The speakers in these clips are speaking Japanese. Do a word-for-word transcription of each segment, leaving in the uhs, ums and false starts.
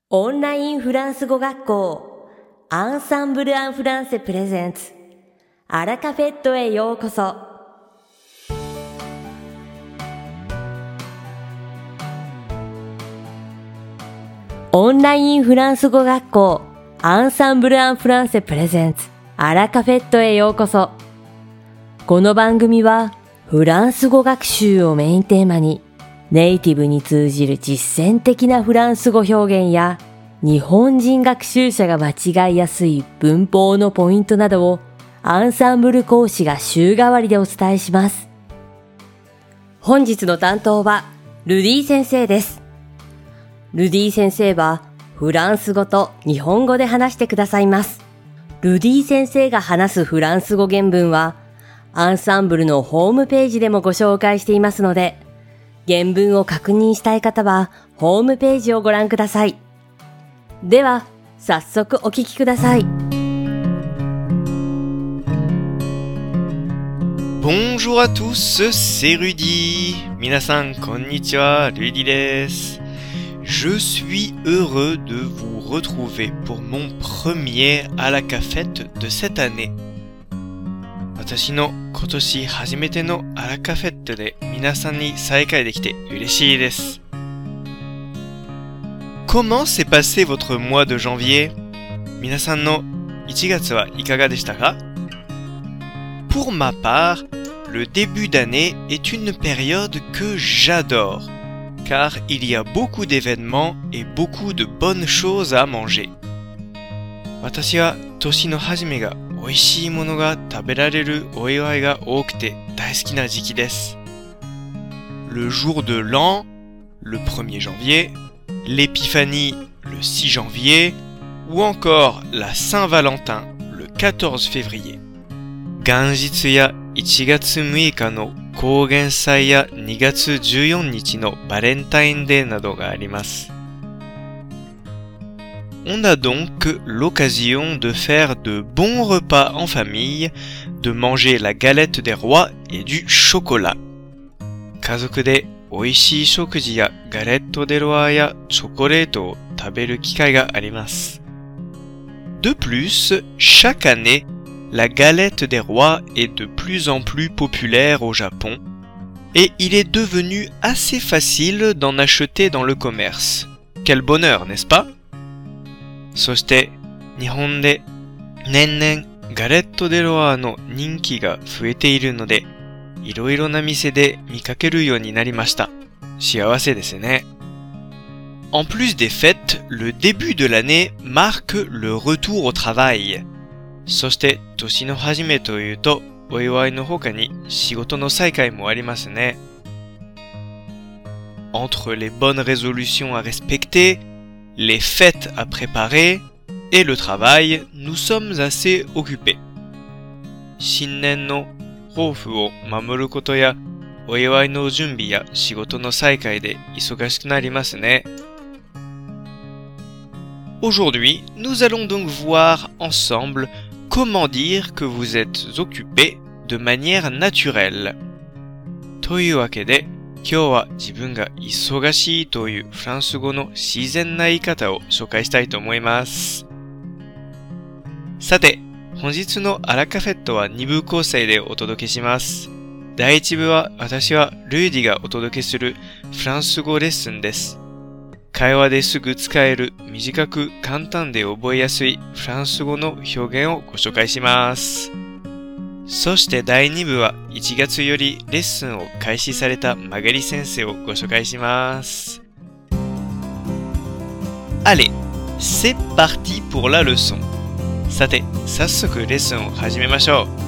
オンラインフランス語学校アンサンブル・アン・フランセプレゼンツアラカフェットへようこそ。オンラインフランス語学校アンサンブル・アン・フランセプレゼンツアラカフェットへようこそ。この番組はフランス語学習をメインテーマにネイティブに通じる実践的なフランス語表現や日本人学習者が間違いやすい文法のポイントなどをアンサンブル講師が週替わりでお伝えします。本日の担当はルディ先生です。ルディ先生はフランス語と日本語で話してくださいます。ルディ先生が話すフランス語原文はアンサンブルのホームページでもご紹介していますので、原文を確認したい方はホームページをご覧ください。では、早速お聞きください。 Bonjour à tous, c'est Rudy. 皆さんこんにちは、Rudy です。Je suis heureux de vous retrouver pour mon premier à la cafette de cette année. 私の今年初めてのアラカフェットで皆さんに再会できて嬉しいです。Comment s'est passé votre mois de janvier? 皆さんのいちがつはいかがでしたか? Pour ma part, le début d'année est une période que j'adore, car il y a beaucoup d'événements et beaucoup de bonnes choses à manger. 私は年の初めが美味しいものが食べられるお祝いが多くて大好きな時期です。Le jour de l'an, le premier janvier, l'épiphanie, le six janvier, ou encore la Saint-Valentin, le quatorze février. 元日やいちがつむいかの高原祭やにがつじゅうよっかのバレンタインデーなどがあります。On a donc l'occasion de faire de bons repas en famille, de manger la galette des rois et du chocolat. 家族で美味しい食事やガレットデロワやチョコレートを食べる機会があります。De plus, chaque année, la galette des rois est de plus en plus populaire au Japon et il est devenu assez facile d'en acheter dans le commerce. Quel bonheur, n'est-ce pas?そして日本で年々ガレットデロワーの人気が増えているので、いろいろな店で見かけるようになりました。幸せですね。En plus des fêtes, le début de l'année marque le retour au travail. そして年の初めというと、お祝いの他に仕事の再開もありますね。Entre les bonnes résolutions à respecter, les fêtes à préparer et le travail, nous sommes assez occupés. 新年の抱負を守ることや、お祝いの準備や仕事の再開で忙しくなりますね。Aujourd'hui, nous allons donc voir ensemble comment dire que vous êtes occupé de manière naturelle. というわけで、今日は自分が忙しいというフランス語の自然な言い方を紹介したいと思います。さて、本日のアラカフェットはに部構成でお届けします。だいいち部は私はルイディがお届けするフランス語レッスンです。会話ですぐ使える短く簡単で覚えやすいフランス語の表現をご紹介します。そしてだいに部はいちがつよりレッスンを開始されたマガリ先生をご紹介します。Allez, c'est parti pour la leçon. さて、早速レッスンを始めましょ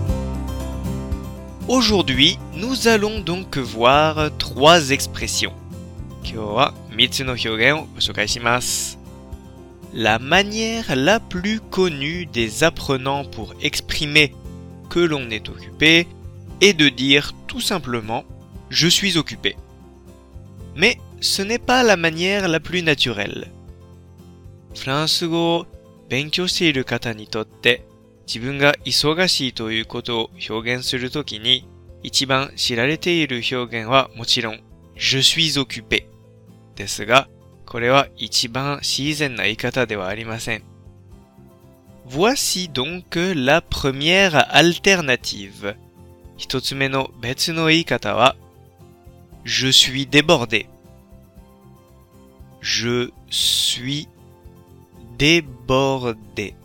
う。Aujourd'hui, nous allons donc voir trois expressions. 今日はみっつの表現をご紹介します。La manière la plus connue des apprenants pour exprimer que l'on est occupé est de dire tout simplement « je suis occupé ». Mais ce n'est pas la manière la plus naturelle. フランス語を勉強している方にとって自分が忙しいということを表現するときに一番知られている表現はもちろん「je suis occupé」ですが、 これは一番自然な言い方ではありません。Voici donc la première alternative. 一つ目の別の言い方は、Je suis débordé. Je suis débordé.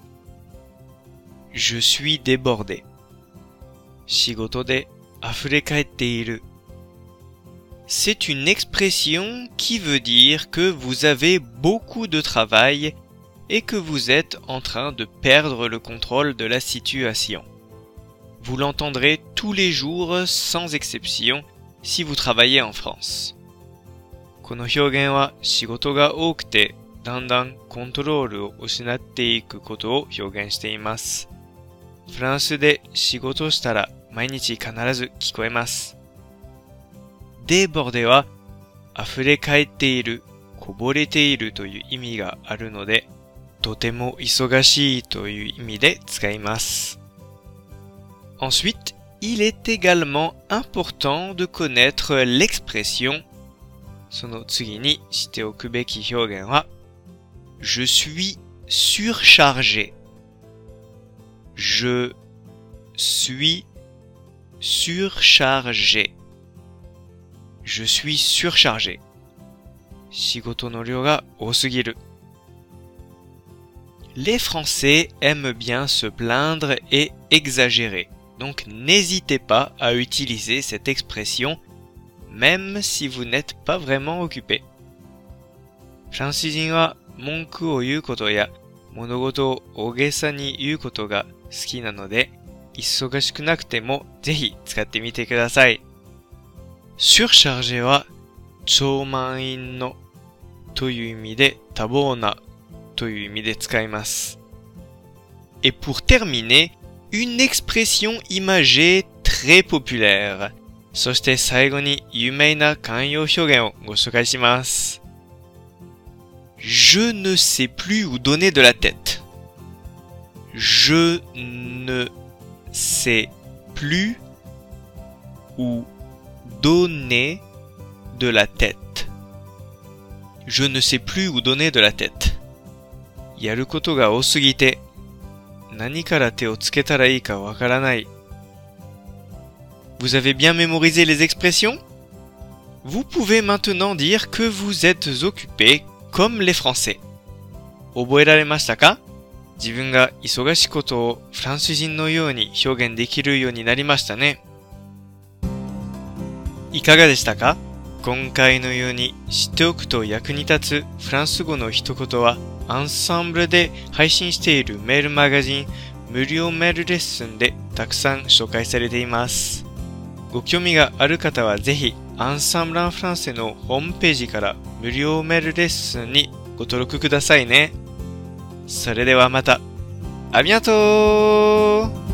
Je suis débordé. 仕事で溢れ返っている。C'est une expression qui veut dire que vous avez beaucoup de travail et que vous êtes en train de perdre le contrôle de la situation. Vous l'entendrez tous les jours sans exception si vous travaillez en France. この表現は仕事が多くてだんだんコントロールを失っていくことを表現しています。フランスで仕事をしたら毎日必ず聞こえます。デボルデは溢れ返っている、こぼれているという意味があるので、とても忙しいという意味で使います。Ensuite, il est également important de connaître l'expression. その次に知っておくべき表現は、Je suis surchargé. Je suis surchargé. Je suis surchargé. 仕事の量が多すぎる。Les Français aiment bien se plaindre et exagérer. Donc n'hésitez pas à utiliser cette expression, même si vous n'êtes pas vraiment occupé. フランス人は文句を言うことや物事を大げさに言うことが好きなので、忙しくなくてもぜひ使ってみてください。surchargé は超満員のという意味で多忙なという意味で使います。Et pour terminer, une expression imagée très populaire. そして最後に有名な慣用表現をご紹介します。Je ne sais plus où donner de la tête. Je ne sais plus où donner de la tête. Je ne sais plus où donner de la tête. やることが多すぎて、何から手をつけたらいいかわからない。Vous avez bien mémorisé les expressions? Vous pouvez maintenant dire que vous êtes occupé comme les Français. 覚えられましたか？自分が忙しいことをフランス人のように表現できるようになりましたね。いかがでしたか？今回のように知っておくと役に立つフランス語の一言はアンサンブルで配信しているメールマガジン無料メールレッスンでたくさん紹介されています。ご興味がある方はぜひアンサンブランフランセのホームページから無料メールレッスンにご登録くださいね。それではまた。ありがとう。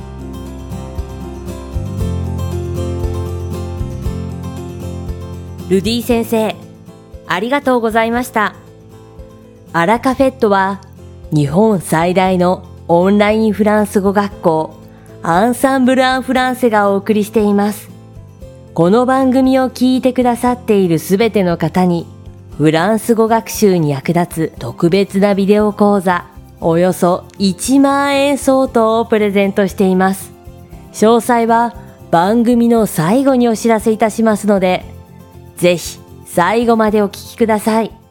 ルディ先生、ありがとうございました。アラカフェットは日本最大のオンラインフランス語学校アンサンブル・アン・フランセがお送りしています。この番組を聞いてくださっているすべての方にフランス語学習に役立つ特別なビデオ講座およそいちまんえん相当をプレゼントしています。詳細は番組の最後にお知らせいたしますので、ぜひ最後までお聞きください。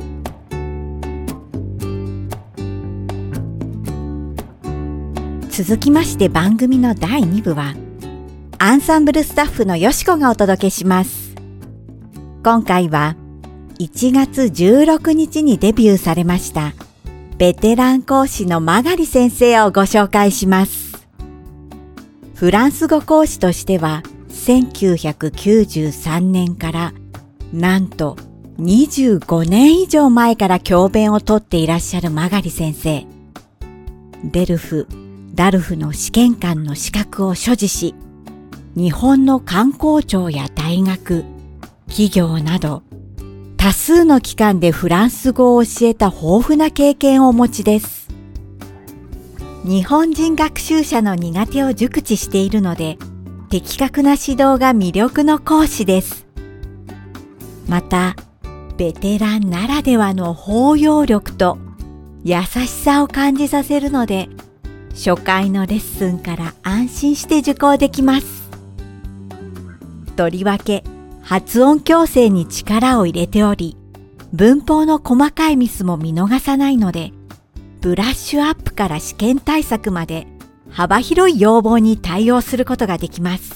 続きまして番組のだいに部はアンサンブルスタッフのよしこがお届けします。今回はいちがつじゅうろくにちにデビューされましたベテラン講師のマガリ先生をご紹介します。フランス語講師としてはせんきゅうひゃくきゅうじゅうさんねんからなんとにじゅうごねん以上前から教鞭をとっていらっしゃるマガリ先生。デルフ、ダルフの試験官の資格を所持し、日本の官公庁や大学、企業など多数の機関でフランス語を教えた豊富な経験をお持ちです。日本人学習者の苦手を熟知しているので、的確な指導が魅力の講師です。また、 ベテランならではの包容力と優しさを感じさせるので、初回のレッスンから安心して受講できます。とりわけ発音矯正に力を入れており、文法の細かいミスも見逃さないので、ブラッシュアップから試験対策まで幅広い要望に対応することができます。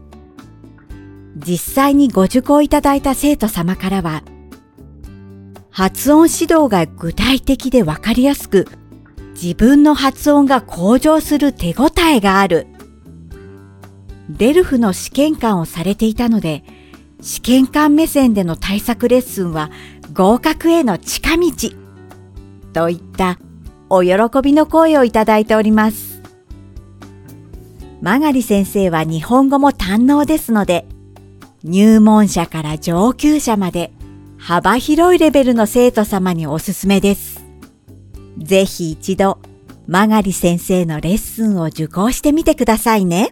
実際にご受講いただいた生徒様からは、発音指導が具体的でわかりやすく、自分の発音が向上する手応えがある。デルフの試験官をされていたので、試験官目線での対策レッスンは合格への近道。といったお喜びの声をいただいております。曲狩先生は日本語も堪能ですので、入門者から上級者まで幅広いレベルの生徒様におすすめです。ぜひ一度、曲狩先生のレッスンを受講してみてくださいね。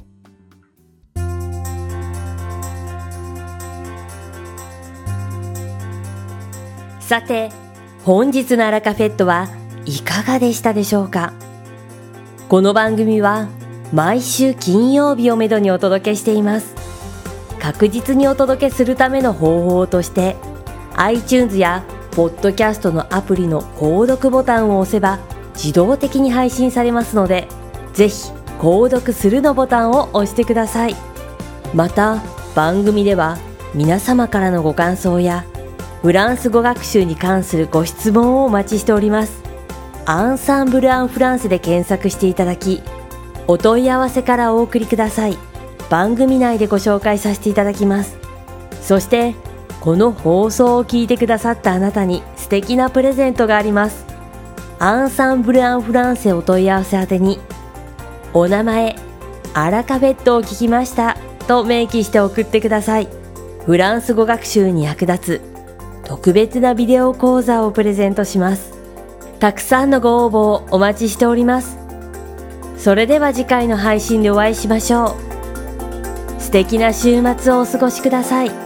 さて、本日のアラカフェットはいかがでしたでしょうか。この番組は毎週金曜日をめどにお届けしています。確実にお届けするための方法として、iTunes やポッドキャストのアプリの購読ボタンを押せば自動的に配信されますので、ぜひ購読するのボタンを押してください。また、番組では皆様からのご感想やフランス語学習に関するご質問をお待ちしております。アンサンブル・アン・フランセで検索していただき、お問い合わせからお送りください。番組内でご紹介させていただきます。そして、この放送を聞いてくださったあなたに素敵なプレゼントがあります。アンサンブル・アン・フランセお問い合わせ宛てに、お名前、アラカフェットを聞きましたと明記して送ってください。フランス語学習に役立つ特別なビデオ講座をプレゼントします。たくさんのご応募をお待ちしております。それでは次回の配信でお会いしましょう。素敵な週末をお過ごしください。